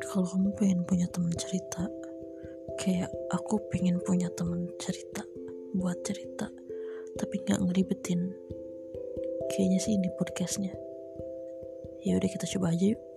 Kalau kamu pengen punya teman cerita, kayak aku pengen punya teman cerita, buat cerita, tapi nggak ngeribetin. Kayaknya sih ini podcastnya. Ya udah kita coba aja yuk.